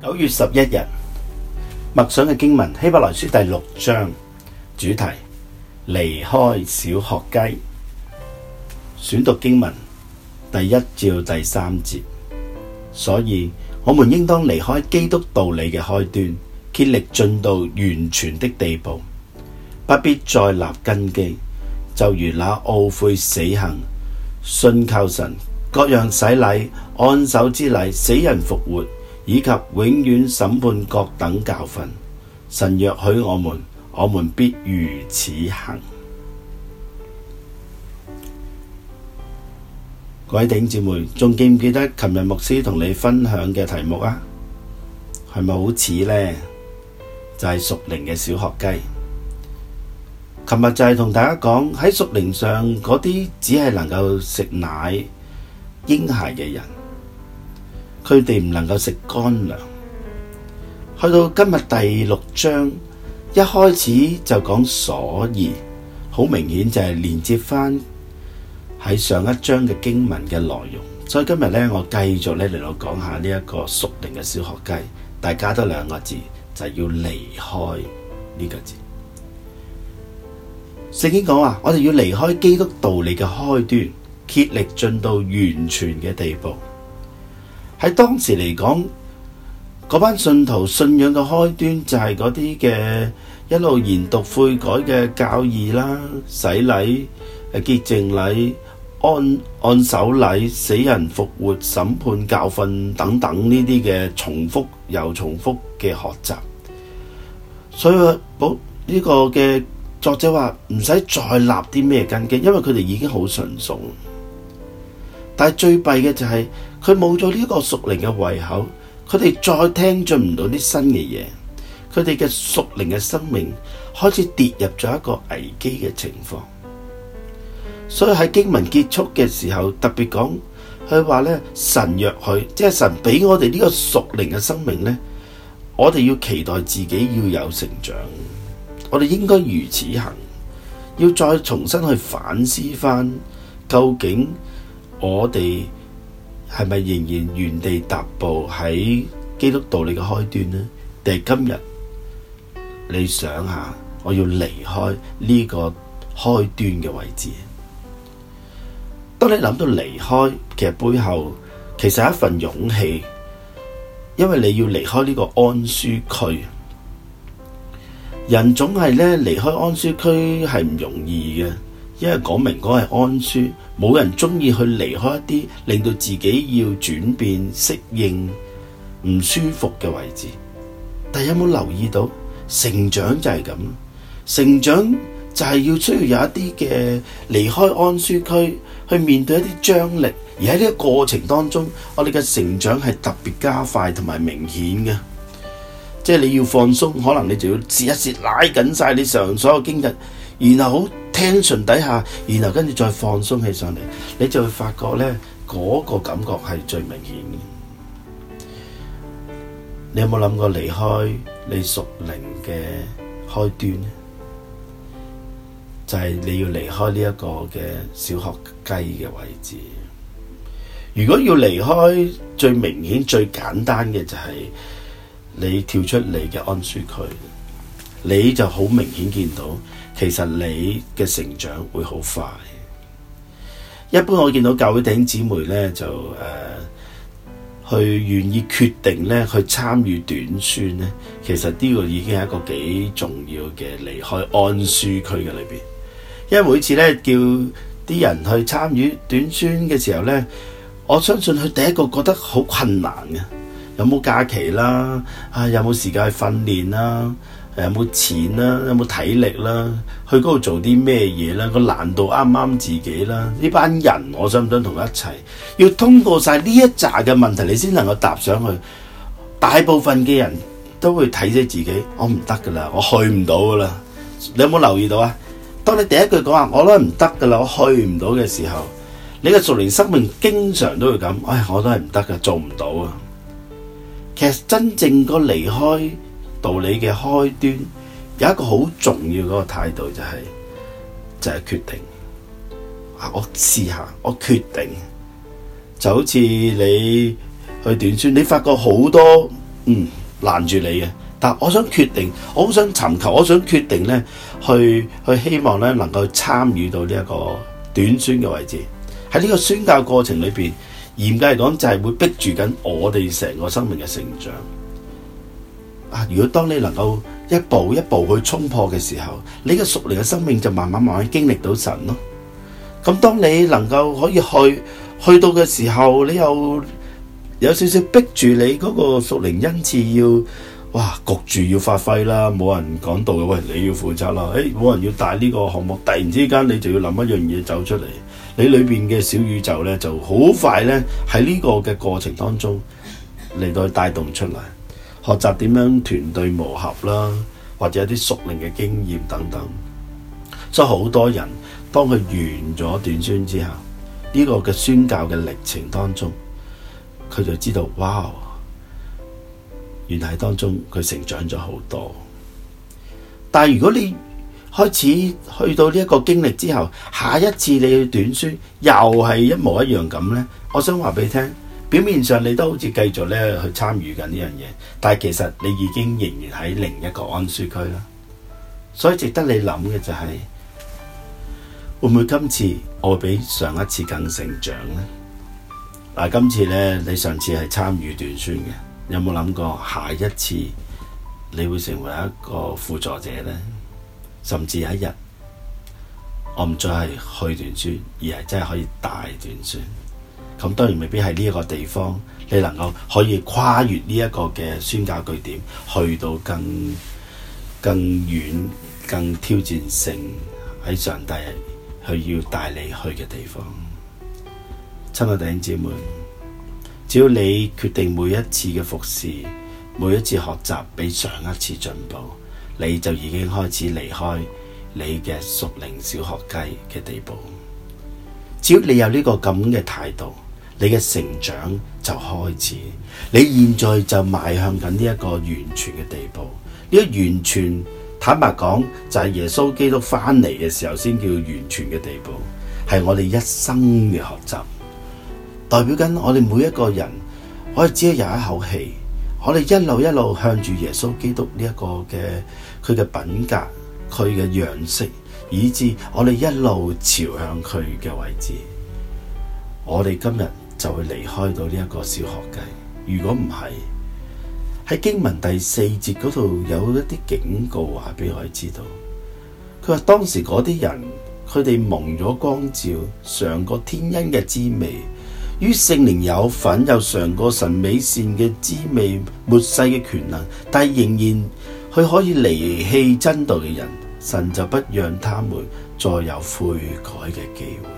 9月11日默想嘅經文，希伯來書第6章，主題離開小學雞。選讀經文第1至第3節。所以我們應當離開基督道理嘅開端，竭力進到完全的地步，不必再立根基，就如那懊悔死行、信靠神、各樣洗禮、按手之禮、死人復活，以及永遠審判各等教訓。神若許我們必如此行。各位弟兄姊妹，仲記唔記得琴日牧師同你分享嘅題目啊？係咪好似呢？就係屬靈嘅小學雞。琴日就係同大家講，喺屬靈上嗰啲只係能夠食奶嬰孩嘅人，佢哋唔能夠食乾糧。去到今日第6章，一開始就講所以，好明顯就係連接翻喺上一章嘅經文嘅內容。所以今日呢，我繼續嚟到講下呢一個屬靈嘅小學雞，大家都2個字，就係要離開呢個字。聖經講話，我哋要離開基督道理嘅開端，竭力進到完全嘅地步。喺當時嚟講，嗰班信徒信仰嘅開端就係嗰啲嘅一路研讀悔改嘅教義啦、洗禮、潔淨禮、按手禮、死人復活、審判教訓等等呢啲嘅重複又重複嘅學習。所以呢個嘅作者話唔使再立啲咩根基，因為佢哋已經好純熟。但係最弊嘅就係佢冇咗呢個屬靈嘅胃口，佢哋再聽進唔到啲新嘅嘢，佢哋嘅屬靈嘅生命開始跌入咗一個危機嘅情況。所以喺經文結束嘅時候特別講，佢話咧，神若許，即係神俾我哋呢個屬靈嘅生命咧，我哋要期待自己要有成長，我哋應該如此行，要再重新去反思翻，究竟我哋係咪仍然原地踏步喺基督道理嘅開端呢？定係今日你想下，我要離開呢個開端嘅位置。當你諗到離開，其實背後其實係一份勇氣，因為你要離開呢個安舒區。人總係咧離開安舒區係唔容易嘅，因為講明嗰係安舒，冇人中意去離開一啲令到自己要轉變、適應唔舒服嘅位置。但係有冇留意到，成長就係咁，成長就係要需要有一啲嘅離開安舒區，去面對一啲張力，而喺呢個過程當中，我哋嘅成長係特別加快同埋明顯嘅。即係你要放鬆，可能你就要試一試拉緊晒你上所有經歷，然後好tension底下，然後跟住再放鬆起上嚟，你就會發覺呢嗰個感覺係最明顯嘅。你有冇諗過離開你屬靈嘅開端呢？就係你要離開呢一個嘅小學雞嘅位置。如果要離開，最明顯最簡單嘅就係你跳出你嘅安舒區，你就好明顯見到其實你嘅成長會好快。一般我見到教會弟兄姊妹咧就去願意決定咧去參與短宣咧，其實呢個已經係一個幾重要嘅離開安舒區嘅裏邊。因為每次咧叫啲人去參與短宣嘅時候咧，我相信佢第一個覺得好困難嘅。有冇假期啦？有冇時間去訓練啦？有冇錢啦？有冇體力啦？去嗰度做啲咩嘢啦？個難度啱唔啱自己啦？呢班人我想唔想同佢一齊？要通過晒呢一紮嘅問題，你先能夠踏上去。大部分嘅人都會睇死自己，我唔得噶啦，我去唔到噶啦。你有冇留意到啊？當你第一句講話我都唔得噶啦，我去唔到嘅時候，你嘅屬靈生命經常都會咁，我都係唔得噶，做唔到啊。其實真正個離開道理嘅開端，有一個好重要嗰個態度，就係決定。我試下，我決定，就好似你去短宣，你發覺好多攔住你嘅。但我想決定，我好想尋求，我想決定咧，去希望咧能夠參與到呢一個短宣嘅位置。喺呢個宣教過程裏邊，嚴格嚟講就係會逼住緊我哋成個生命嘅成長。如果當你能夠一步一步去衝破嘅時候，你嘅屬靈嘅生命就慢慢經歷到神咯。咁當你能夠可以去到嘅時候，你又有少少逼住你嗰個屬靈恩賜要。焗住要發揮啦，冇人講道嘅，喂，你要負責啦，冇人要帶呢個項目，突然之間你就要諗一樣嘢走出嚟，你裏邊嘅小宇宙咧就好快咧喺呢個嘅過程當中嚟到帶動出嚟，學習點樣團隊磨合啦，或者一啲屬靈嘅經驗等等。所以好多人當佢完咗短宣之後，呢個嘅宣教嘅歷程當中，佢就知道，哇！原來當中佢成長咗好多，但係如果你開始去到呢一個經歷之後，下一次你去短宣又係一模一樣咁呢？我想話俾你聽，表面上你都好似繼續咧去參與緊呢樣嘢，但係其實你已經仍然喺另一個安舒區啦。所以值得你諗嘅就係，會唔會今次我會比上一次更成長呢？今次呢，你上次係參與短宣嘅。有冇諗過下一次你會成為一個輔助者呢？甚至有一日我唔再係去短宣，而係真係可以帶短宣。咁當然未必係呢一個地方，你能夠可以跨越呢一個嘅宣教據點，去到更遠、更挑戰性喺上帝去要帶你去嘅地方。親愛弟兄姊妹，只要你決定每一次嘅服侍，每一次學習比上一次進步，你就已經開始離開你嘅屬靈小學雞嘅地步。只要你有呢個咁嘅態度，你嘅成長就開始。你現在就邁向緊呢一個完全嘅地步。呢個完全，坦白講，就係耶穌基督翻嚟嘅時候先叫完全嘅地步，係我哋一生嘅學習。代表緊我哋每一個人，我哋只係有一口氣，我哋一路向住耶穌基督呢一個嘅佢嘅品格、佢嘅樣式，以致我哋一路朝向佢嘅位置。我哋今日就會離開到呢一個小學雞。如果唔係，喺經文第4節嗰度有一啲警告話俾我哋知道，佢話當時嗰啲人，佢哋蒙咗光照，嘗過天恩嘅滋味，於聖靈有份，又嘗過神美善嘅滋味、末世嘅權能，但係仍然佢可以離棄真道嘅人，神就不讓他們再有悔改嘅機會。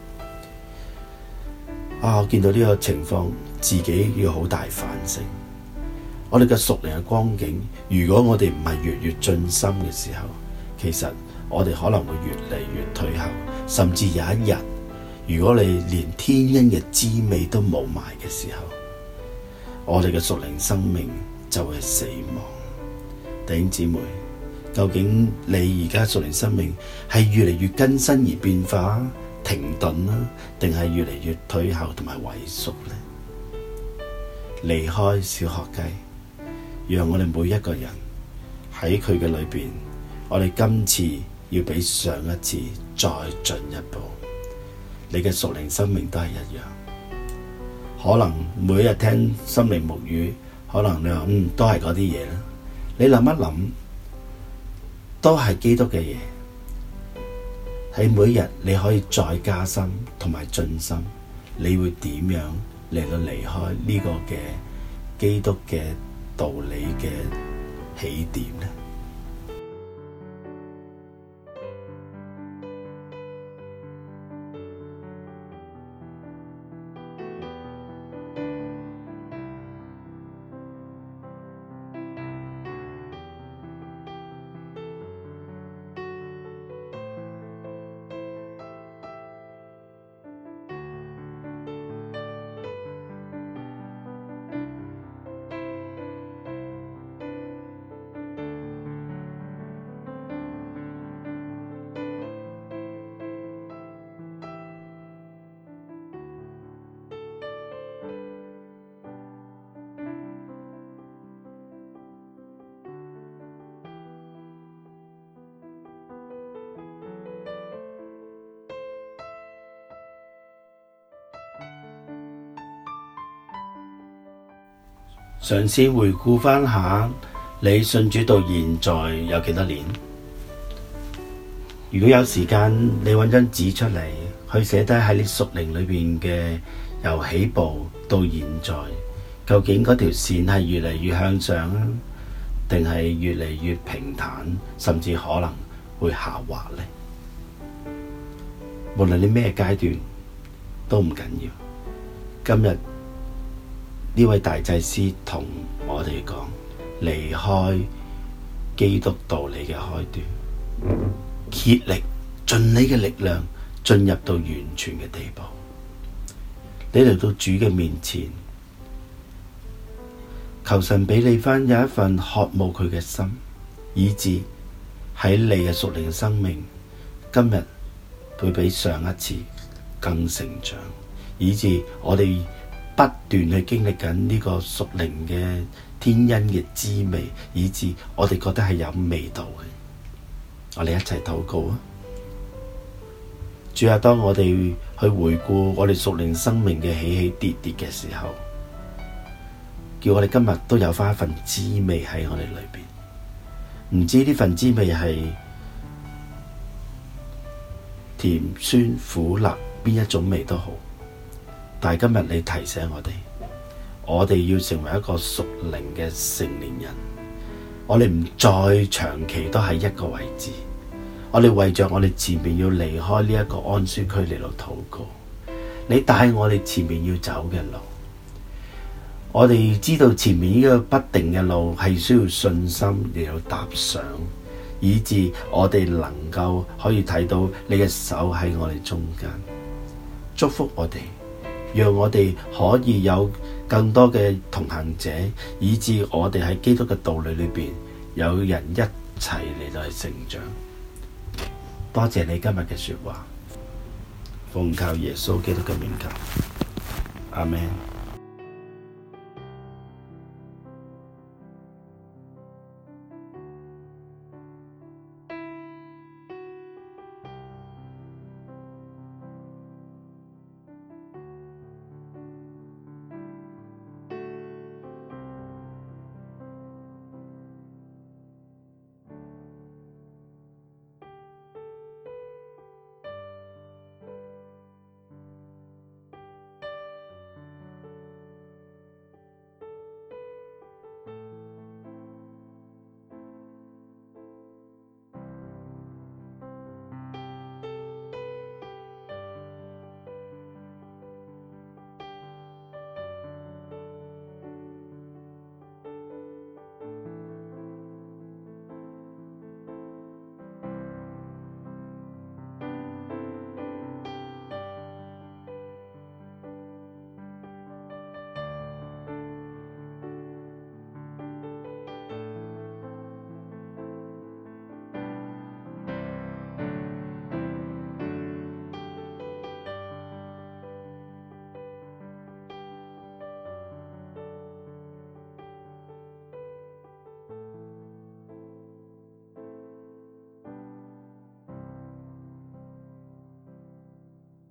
我見到呢個情況，自己要好大反省。我哋嘅屬靈嘅光景，如果我哋唔係越進深嘅時候，其實我哋可能會越嚟越退後，甚至有一日，如果你連天恩嘅滋味都冇埋嘅時候，我哋嘅屬靈生命就會死亡。弟兄姊妹，究竟你而家屬靈生命係越嚟越更新而變化，停頓啦，定係越嚟越退後同埋萎縮呢？離開小學雞，讓我哋每一個人喺佢嘅裏邊，我哋今次要比上一次再進一步。你嘅屬靈生命都係一樣，可能每一日聽心靈牧語，可能你話都係嗰啲嘢啦。你諗一諗，都係基督嘅嘢。喺每一日你可以再加深同埋進深，你會點樣嚟到離開呢個嘅基督嘅道理嘅起點呢？ 嘗試回顧翻下，你信主到現在有幾多年？如果有時間，你揾張紙出嚟，去寫低喺你屬靈裏邊嘅由起步到現在，究竟嗰條線係越嚟越向上啊，定係越嚟越平坦，甚至可能會下滑呢？無論你咩階段都唔緊要。今日呢位大祭司同我哋講，離開基督道理嘅開端，竭力盡你嘅力量進入到完全嘅地步。你嚟到主嘅面前，求神俾你翻有一份渴慕佢嘅心，以致喺你嘅屬靈生命今日會比上一次更成長，以致我哋不斷去經歷緊呢個屬靈嘅天恩嘅滋味，以致我哋覺得係有味道嘅。我哋一齊禱告啊！主啊，當我哋去回顧我哋屬靈生命嘅起起跌跌嘅時候，叫我哋今日都有翻一份滋味喺我哋裏邊。唔知呢份滋味係甜酸苦辣邊一種味都好，但係今日你提醒我哋要成為一個屬靈嘅成年人，我哋唔再長期都喺一個位置，我哋為着我哋前面要離開呢一個安舒區嚟到禱告，你帶我哋前面要走嘅路，我哋知道前面呢個不定嘅路係需要信心嚟到踏上，以致我哋能夠可以睇到你嘅手喺我哋中間，祝福我哋，讓我哋可以有更多嘅同行者，以致我哋喺基督嘅道理裏邊有人一齊嚟到去成長。多謝你今日嘅說話，奉靠耶穌基督嘅名求，阿們。